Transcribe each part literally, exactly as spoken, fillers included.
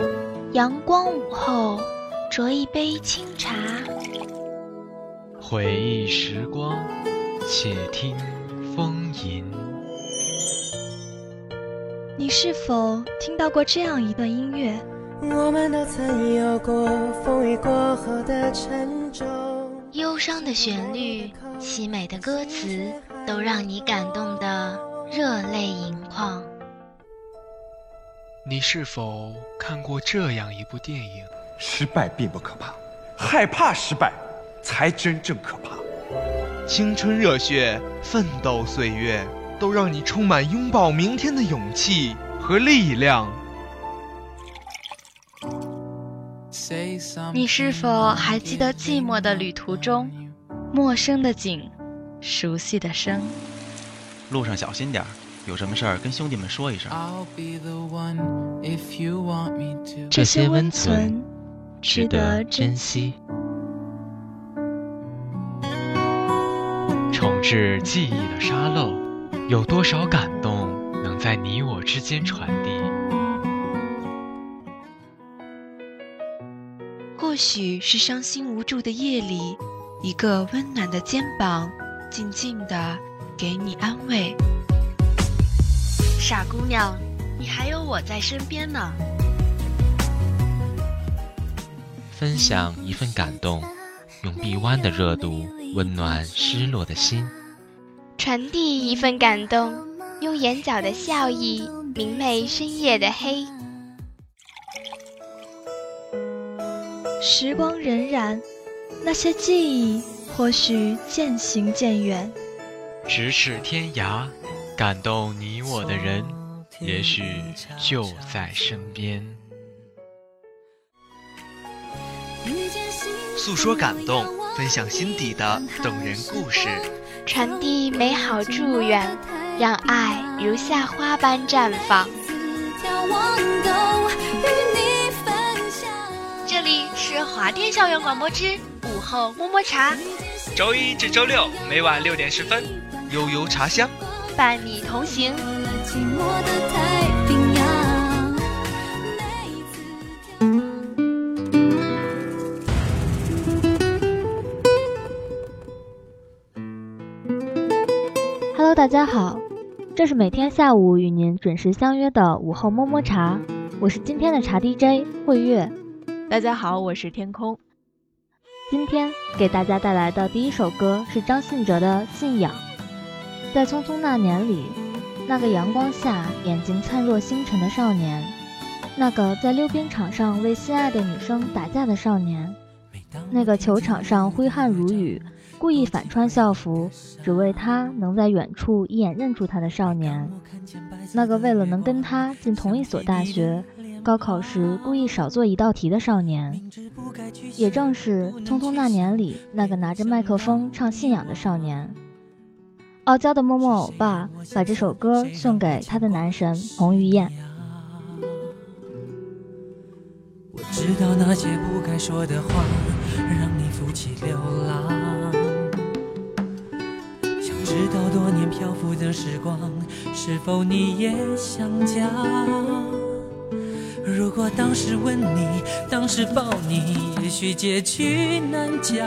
阳光午后，酌一杯清茶， 回忆时光，且听风吟。 你是否听到过这样一段音乐？ 我们都曾有过风雨过后的沉重， 忧伤的旋律，凄美的歌词，都让你感动得热泪盈眶。 你是否看过这样一部电影？ 失败并不可怕，害怕失败才真正可怕。 青春热血，奋斗岁月，都让你充满拥抱明天的勇气和力量。 你是否还记得寂寞的旅途中，陌生的景，熟悉的声？ 路上小心点，有什么事儿跟兄弟们说一声。 这些温存值得珍惜。 重置记忆的沙漏，有多少感动能在你我之间传递？ 或许是伤心无助的夜里，一个温暖的肩膀静静地给你安慰。傻姑娘，你还有我在身边呢。 分享一份感动，用臂弯的热度温暖失落的心， 传递一份感动，用眼角的笑意明媚深夜的黑。 时光荏苒，那些记忆或许渐行渐远， 咫尺天涯，感动你我的人也许就在身边。 诉说感动，分享心底的动人故事， 传递美好祝愿，让爱如夏花般绽放。这里是华电校园广播之午后摸摸茶， 周一至周六每晚六点十分，悠悠茶香伴你同行。 Hello， 大家好，这是每天下午与您准时相约的午后摸摸茶，我是今天的茶 D J 慧月。 大家好，我是天空。 今天给大家带来的第一首歌是张信哲的《信仰》。在匆匆那年里，那个阳光下眼睛灿若星辰的少年，那个在溜冰场上为心爱的女生打架的少年，那个球场上挥汗如雨故意反穿校服只为他能在远处一眼认出他的少年，那个为了能跟他进同一所大学高考时故意少做一道题的少年，也正是匆匆那年里那个拿着麦克风唱信仰的少年。傲娇的默默欧巴把这首歌送给他的男神彭于晏。 我知道那些不该说的话让你负气流浪，想知道多年漂浮的时光是否你也想家。如果当时吻你，当时抱你，也许结局难讲。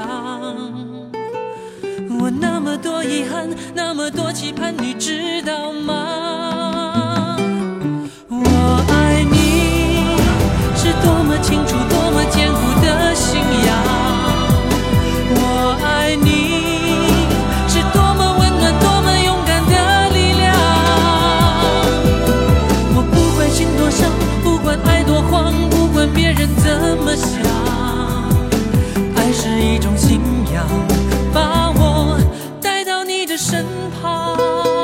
我那么多遗憾，那么多期盼，你知道吗？我爱你是多么清楚，多么坚固的信仰。我爱你是多么温暖，多么勇敢的力量。我不管心多伤，不管爱多慌，不管别人怎么想，爱是一种信仰，把我带到你的身旁。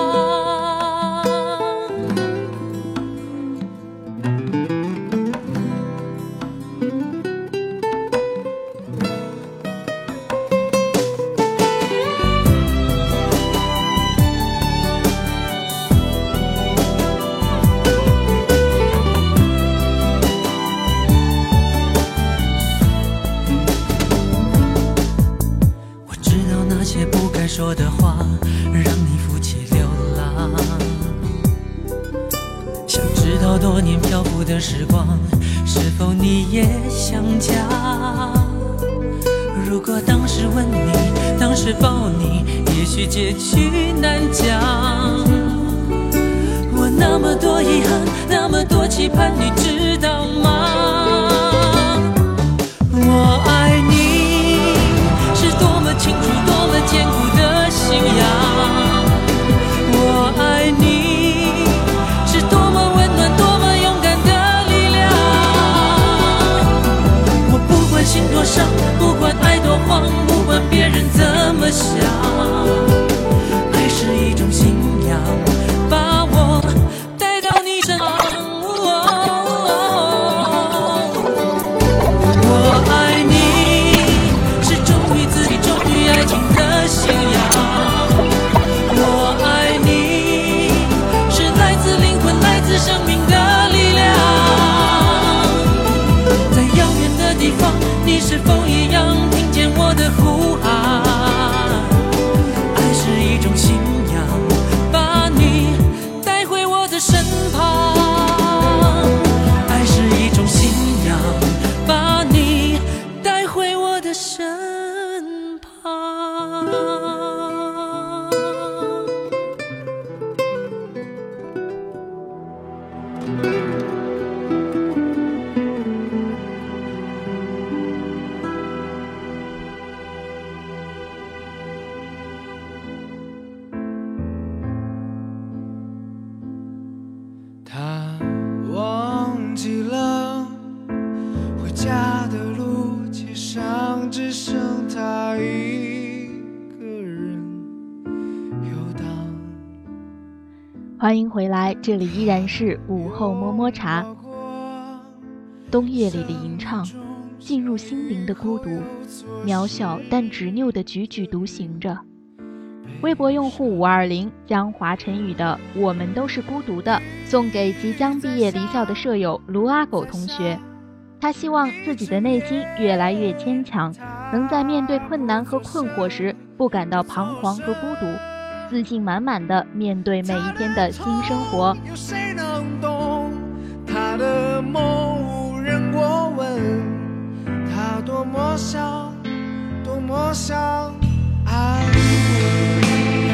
说的话让你负气流浪，想知道多年漂浮的时光是否你也想家？如果当时吻你，当时抱你，也许结局难讲。我那么多遗憾，那么多期盼，你知道吗？我爱你是多么清楚，多么坚固的信仰。我爱你是多么温暖，多么勇敢的力量。我不管心多伤，不管爱多慌，不管别人怎么想，爱是一种信仰，把我带到你身旁。我爱你是忠于自己，忠于爱情的信仰。我爱你是来自灵魂，来自生命的力量。在遥远的地方，你是否一样听见我的呼喊？爱是一种信仰，把你带回我的身旁。爱是一种信仰，把你带回我的身旁。 他忘记了回家的路，街上只剩他一个人游荡。 欢迎回来，这里依然是午后摸摸茶。冬夜里的吟唱，进入心灵的孤独，渺小但执拗地踽踽独行着。微博用户五二零将华晨宇的《我们都是孤独的》送给即将毕业离校的舍友卢阿狗同学。他希望自己的内心越来越坚强，能在面对困难和困惑时不感到彷徨和孤独，自信满满地面对每一天的新生活。 有谁能懂他的梦，无人过问，他多么想，多么想爱我。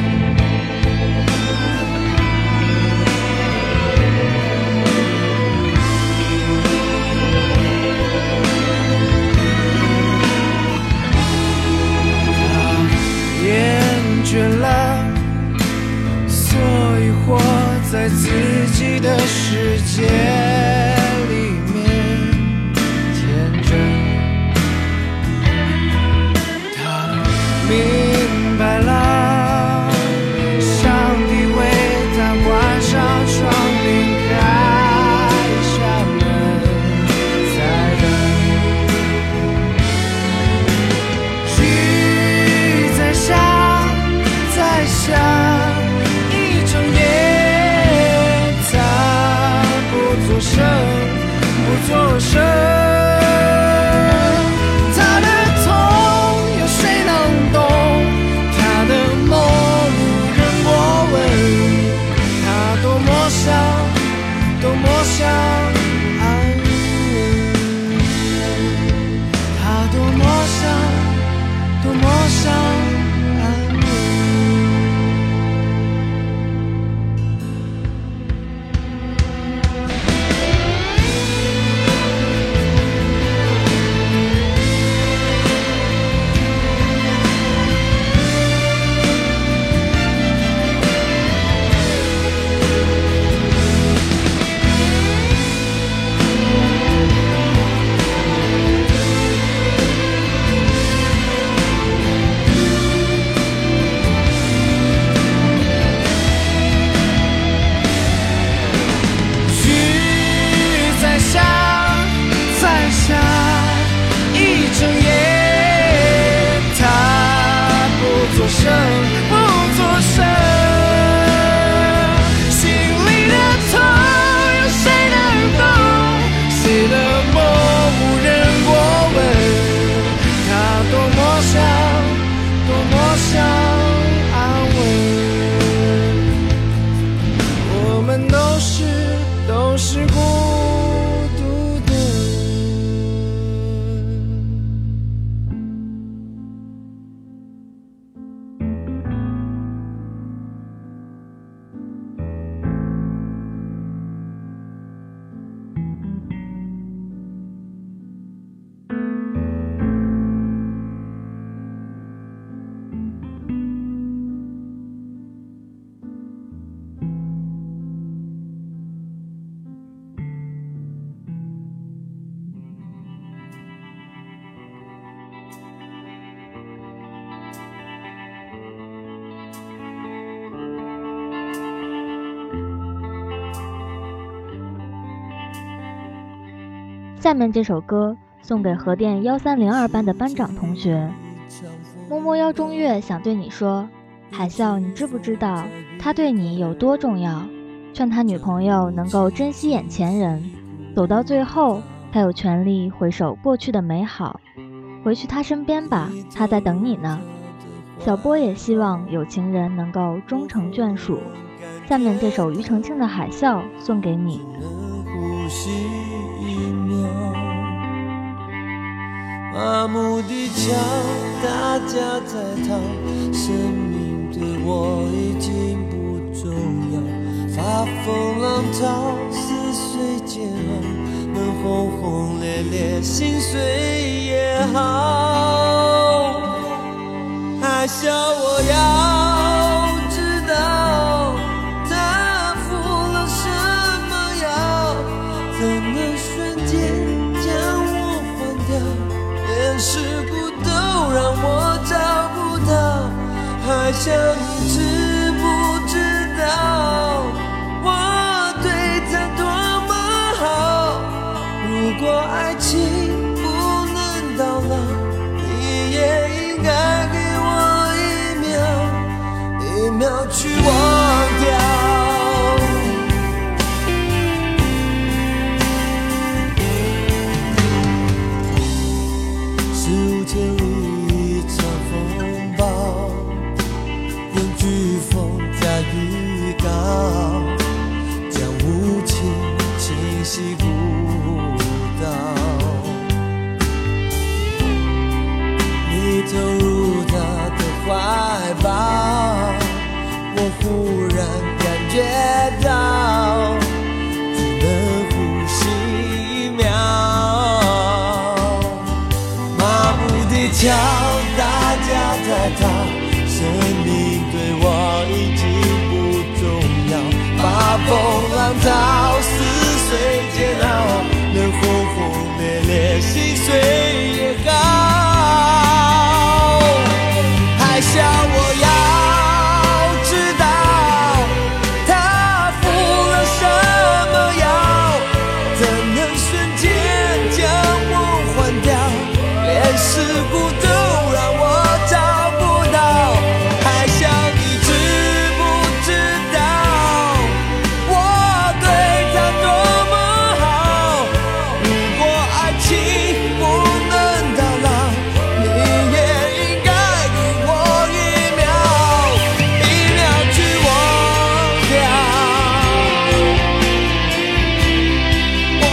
倦了，所以活在自己的世界里面，天真。他明白了，上帝为他关上窗，并开下门，在等雨在下。在下一整夜，他不作声，不作声。他的痛有谁能懂？他的梦无人过问。他多么想，多么想安稳。他多么想，多么想。都是孤独的。 下面这首歌送给核电幺三零二班的班长同学。摸摸腰中月想对你说，海啸，你知不知道他对你有多重要？劝他女朋友能够珍惜眼前人，走到最后，他有权利回首过去的美好。回去他身边吧，他在等你呢。小波也希望有情人能够终成眷属。下面这首庾澄庆的《海啸》送给你。 呼吸一秒，麻木地瞧大家在逃，生命对我已经不重要，发疯浪涛似水煎熬，能轰轰烈烈心碎也好。海啸我要知道它付了什么药，怎能瞬间将我换掉，连事故都让我找不到。海啸你知不知道我对他多么好，如果爱情不能到老，你也应该给我一秒一秒去忘掉。十五千里一场风暴，用飓风加预告，将无情侵袭孤岛。你投入他的怀抱，我忽然感觉到只能呼吸一秒，麻木地瞧大家在逃，生命对我已经不重要，发疯浪涛似水煎熬，能轰轰烈烈心碎也好。海啸我要知道它付了什么药，怎能瞬间将我换掉，连事故都让我找不到。海啸你知不知道我对他多么好，如果爱情不能到老，你也应该给我一秒一秒去忘掉。哦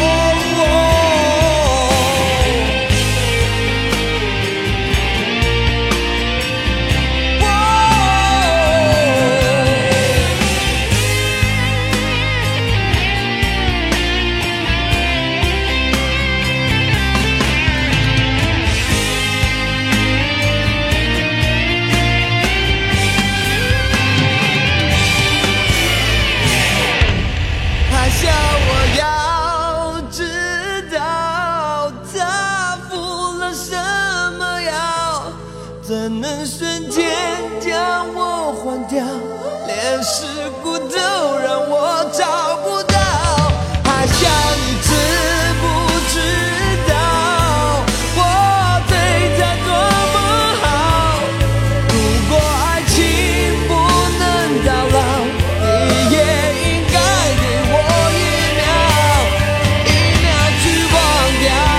海啸我要知道它付了什么药，怎能瞬间将我换掉，连事故都让我找不到。海啸你知不知道我对他多么好，如果爱情不能到老，你也应该给我一秒一秒去忘掉。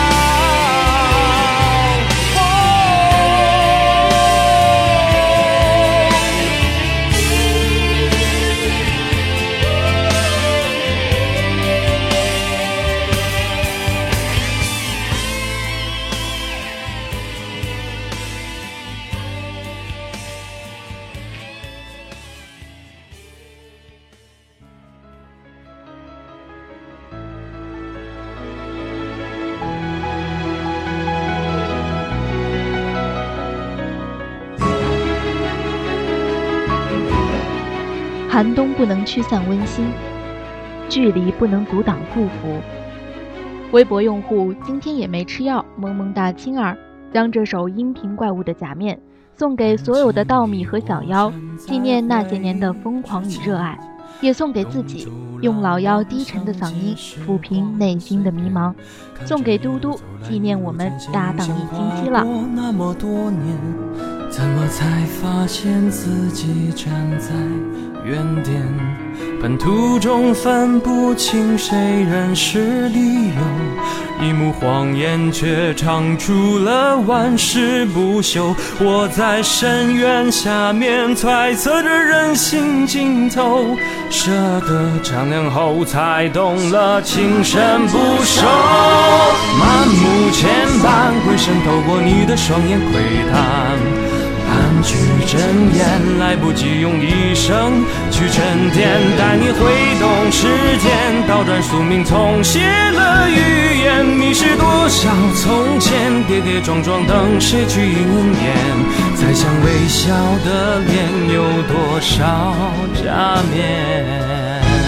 寒冬不能驱散温馨，距离不能阻挡祝福。微博用户今天也没吃药，萌萌哒青儿将这首音频怪物的假面送给所有的稻米和小妖，纪念那些年的疯狂与热爱。 也送给自己，用老妖低沉的嗓音抚平内心的迷茫，送给嘟嘟，纪念我们搭档一星期了。 那么多年，怎么才发现自己站在原点？半途中分不清谁人是理由，一幕谎言却唱出了万事不休。我在深渊下面揣测着人心尽头，舍得丈量后才懂了情深不寿。满目牵绊，回身透过你的双眼窥探，半句真言来不及用一生去沉淀，带你挥动时间，倒转宿命，重写了语言，迷失多少从前，跌跌撞撞等谁去应验，猜想微笑的脸有多少假面。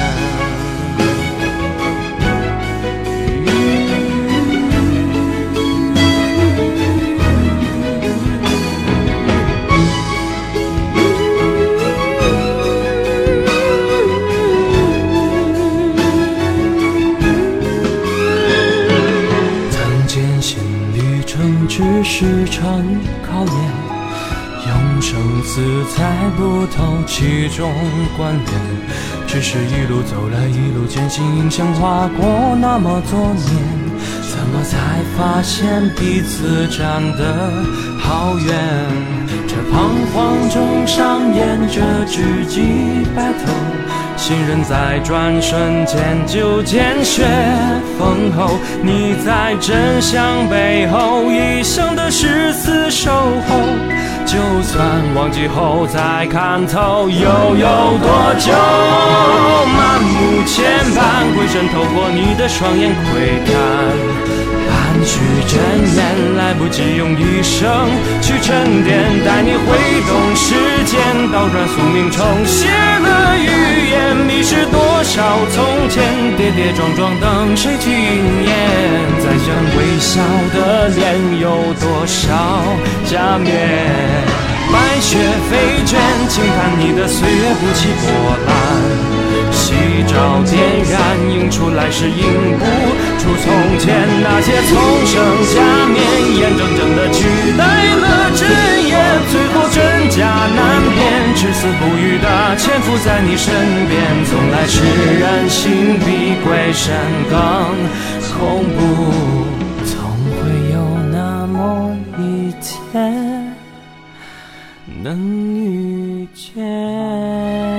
只是场考验，用生死猜不透其中关联，只是一路走来一路艰辛，影像划过那么多年，怎么才发现彼此站得好远？这彷徨中上演着知己白头，信任在转瞬间就见血封喉，你在真相背后一生的誓死守候，就算忘记后再看透，又有多久？满目牵绊，回身透过你的双眼窥看，半句真言来不及用一生去沉淀，带你挥动时间，倒转宿命，重写了语言，迷失多少从前，跌跌撞撞等谁去应验，再想微笑的脸有多少假面，白雪飞卷，轻叹你的岁月不起波澜，夕照点燃，映出来是映不出从前，那些从生假面，眼睁睁地取代了真言，最后真假难辨，至死不渝的潜伏在你身边，从来世人心比鬼神更恐怖，总会有那么一天能遇见。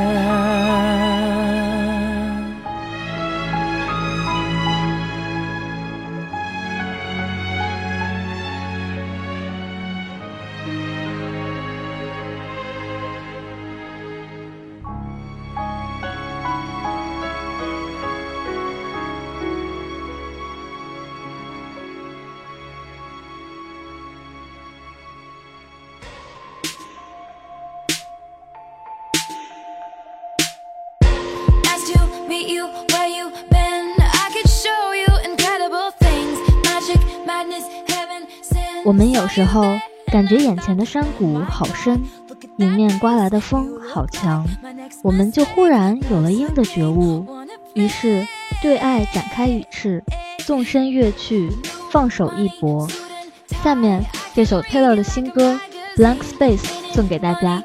我们有时候感觉眼前的山谷好深，迎面刮来的风好强，我们就忽然有了鹰的觉悟，于是对爱展开羽翅，纵身跃去，放手一搏。下面这首 Taylor 的新歌 Blank Space 送给大家。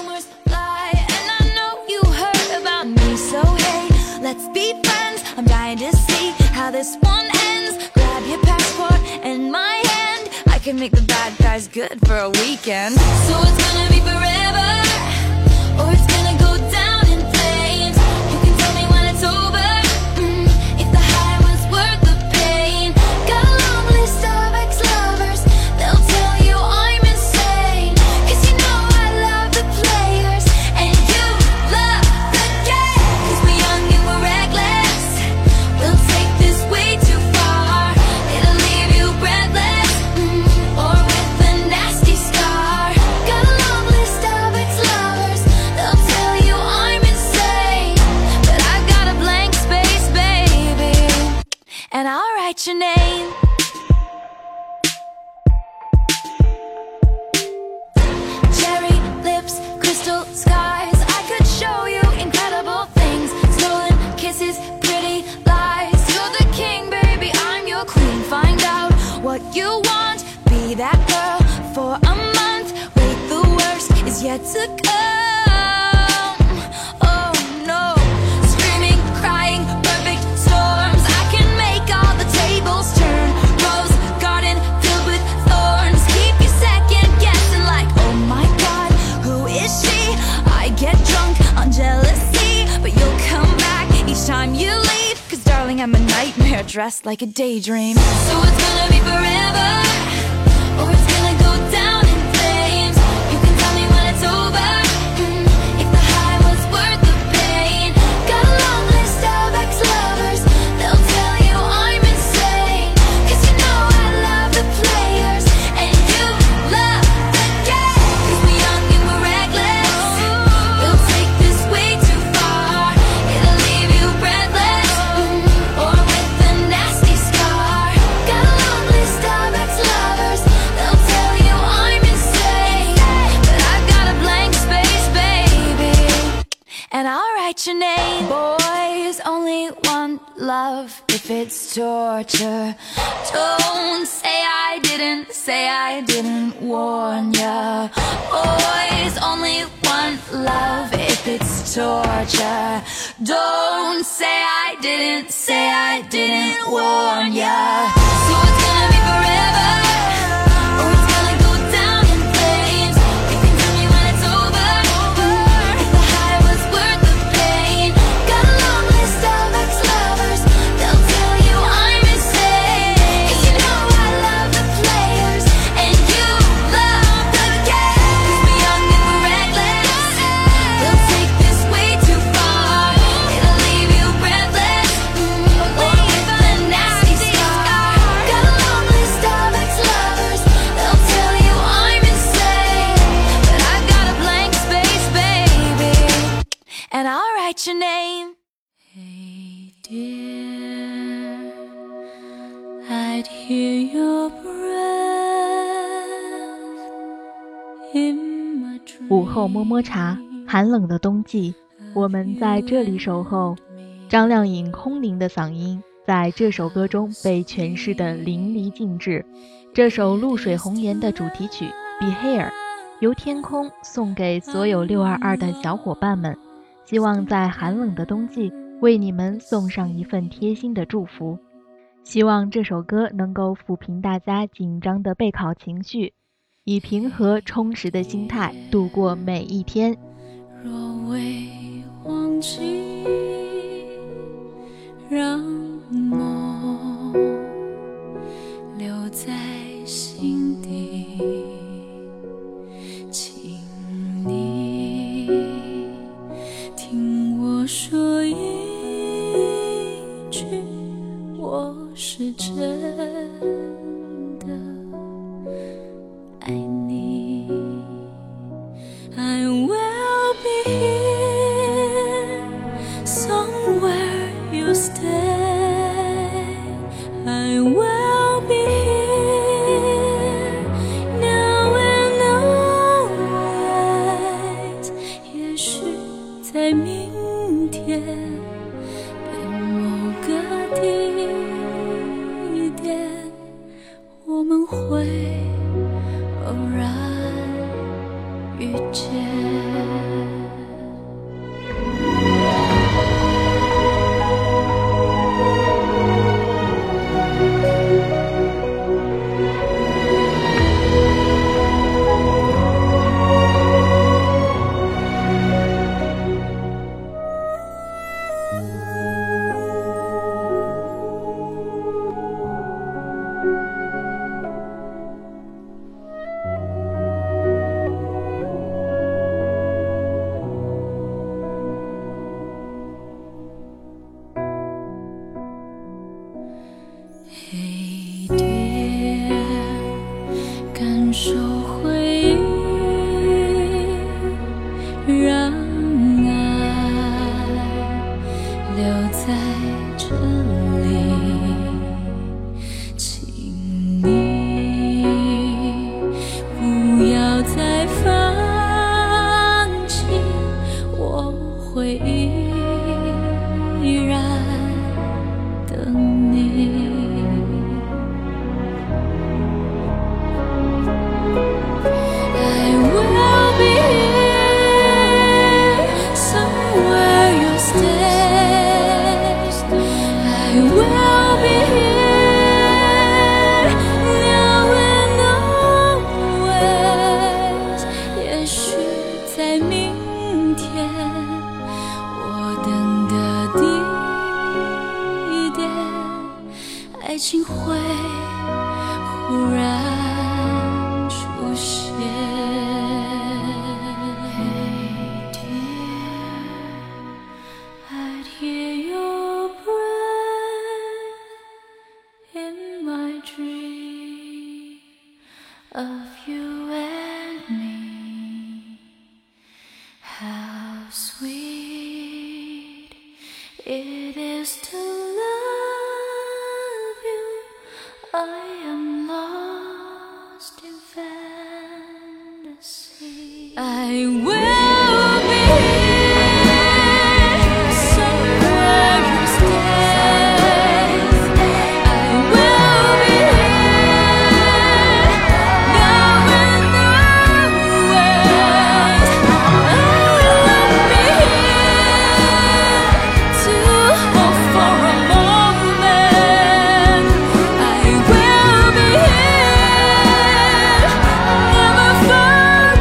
Let's be friends, I'm dying to see how this one ends. Grab your passport and my hand, I can make the bad guys good for a weekend. So it's gonna be forever, or it's gonna go down in flames. You can tell me when it's over, mm, if the high was worth the pain. Got a long list of ex-lovers, they'll tell you I'm insane, cause you know I love the players, and you love the game. Cause we're young and we're reckless, we'll take this way too far. It'll leave you breathless, mm, or with a nasty scar. Got a long list of ex-lovers, they'll tell you I'm insane, but I've got a blank space, baby, and I'll write your name. Cherry lips, crystal skies, I could show you incredible things. what you want. Be that girl for a month. Wait, the worst is yet to come. Oh no, screaming, crying, perfect storms. I can make all the tables turn. Rose garden filled with thorns. Keep you second guessing like, oh my God, who is she? I get drunk on jealousy, but you'll come back each time you leave. Cause darling, I'm a nightmare dressed like a daydream. So it's gonna be forever, or it's gonna go down in flames. You can tell me when it's over, mm, if the high was worth the pain. Got a long list of ex-lovers, they'll tell you I'm insane. Cause you know I love the players, and you love the game. Cause we're young and we're reckless, we'll take this way too far. It'll leave you breathless, mm, or with a nasty scar. Got a long list of ex-lovers, they'll tell you I'm insane. But I've got a blank space, baby, and I'll write your name. Boys only want love if it's torture. Don't say I didn't, say I didn't warn ya. Boys only want love if it's torture. Don't say I didn't, say I didn't warn ya. So it's gonna be forever, or it's gonna go down in flames. You can tell me when it's over, mm, if the high was worth the pain. Got a long list of ex-lovers, they'll tell you I'm insane. Cause you know I love the players, and you love the game. Cause we're young and we're reckless, we'll take this way too far. It'll leave you breathless, mm, or with a nasty scar. Got a long list of ex-lovers, they'll tell you I'm insane. But I've got a blank space, baby, and I'll write your name. Hey dear, I'd hear your breath in my dreams. 午后摸摸茶，寒冷的冬季，我们在这里守候。张靓颖空灵的嗓音在这首歌中被诠释得淋漓尽致。这首《露水红颜》的主题曲《Be Here》由天空送给所有六二二的小伙伴们，希望在寒冷的冬季为你们送上一份贴心的祝福。希望这首歌能够抚平大家紧张的备考情绪，以平和充实的心态度过每一天。 若未忘记，让梦留在心底，请你听我说一句，我是真的爱你。 I will be here somewhere you stay. I will be here now and always. 也许在明天的某个地点，我们会偶然遇见。 情会忽然出现。Hey dear, I'd hear your breath in my dream of you and me. How sweet it is to love you. I am lost in fantasy. I will be somewhere you stay. I will be now and always. I will be to hope for a moment. I will be never far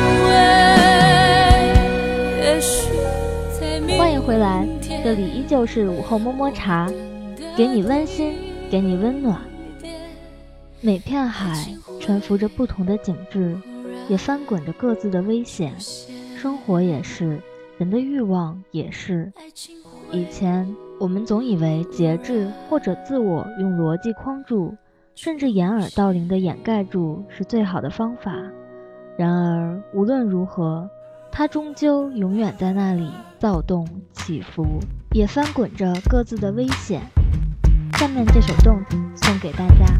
away. 也许在明欢迎回来，这里依旧是午后么么茶，给你温馨，给你温暖。每片海沉浮着不同的景致，也翻滚着各自的危险。生活也是，人的欲望也是。以前我们总以为节制或者自我用逻辑框住，甚至掩耳盗铃的掩盖住是最好的方法。然而无论如何，它终究永远在那里躁动起伏，也翻滚着各自的危险。下面这首 Don't 送给大家。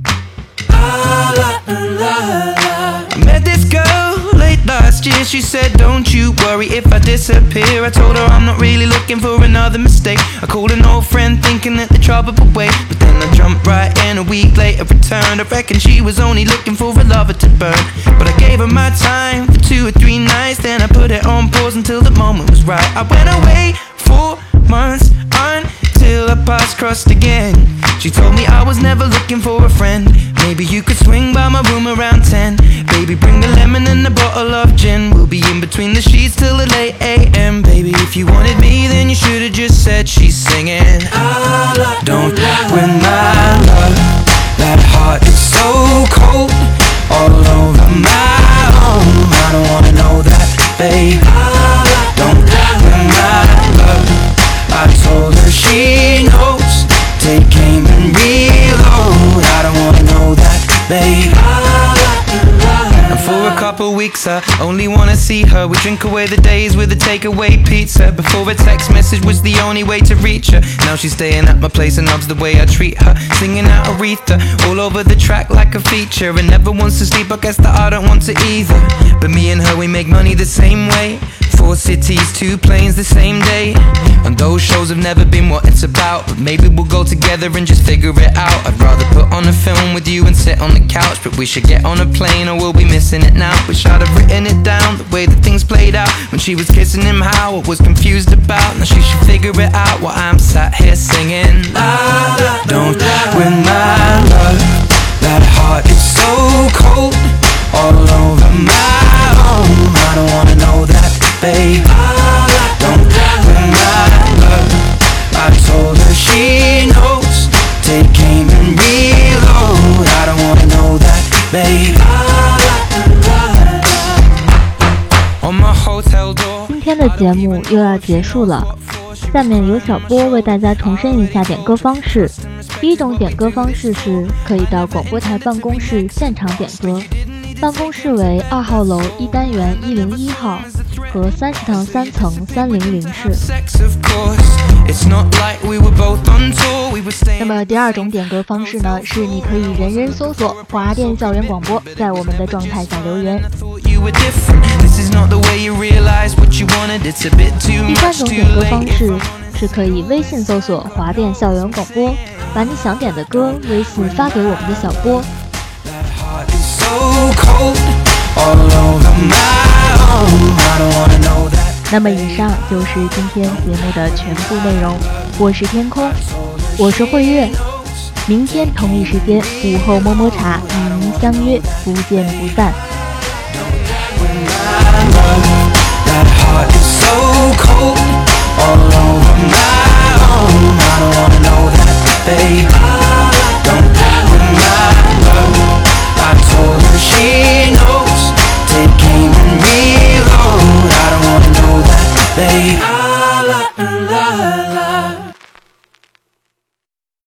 I met this girl late last year. She said, don't you worry if I disappear. I told her I'm not really looking for another mistake. I called an old friend thinking that the trouble would wait, but then I jumped right in. A week later returned. I reckon she was only looking for a lover to burn, but I gave her my time for two or three nights. Then I put it on pause until the moment was right. I went away for months until our paths crossed again. She told me I was never looking for a friend. Maybe you could swing by my room around ten. Baby, bring a lemon and a bottle of gin. We'll be in between the sheets till the late a m. Baby, if you wanted me, then you should've just said she's singing. Don't win my love. That heart is so cold, all over my own. I don't wanna know that, babe. Don't win my love. I told her she knows. Take aim and reload. I don't wanna know that, babe. And for a couple weeks I only wanna see her. We drink away the days with a takeaway pizza. Before a text message was the only way to reach her. Now she's staying at my place and loves the way I treat her. Singing out Aretha all over the track like a feature. And never wants to sleep, I guess that I don't want to either. But me and her, we make money the same way. Four cities, two planes the same day. And those shows have never been what it's about, but maybe we'll go together and just figure it out. I'd rather put on a film with you and sit on the couch, but we should get on a plane or we'll be missing it now. Wish I'd have written it down, the way that things played out. When she was kissing him, how I was confused about. Now she should figure it out while I'm sat here singing. Don't win my love. That heart is so cold, all over my own. I don't wanna know that, babe. Don't win my love. I told her she knows. Take aim and reload. I don't wanna know that, babe. On my hotel door. 今天的节目又要结束了，下面由小波为大家重申一下点歌方式。第一种点歌方式是可以到广播台办公室现场点歌，办公室为二号楼一单元一零一号和三食堂三层三零零室。那么第二种点歌方式呢，是你可以人人搜索华电校园广播，在我们的状态下留言。第三种点歌方式是可以微信搜索华电校园广播，把你想点的歌微信发给我们的小波。那么以上就是今天节目的全部内容，我是天空，我是慧月，明天同一时间午后么么茶与您相约，不见不散。 All over my own, I don't wanna know that, babe. I told her she knows. Take aim and reload. I don't wanna know that, babe.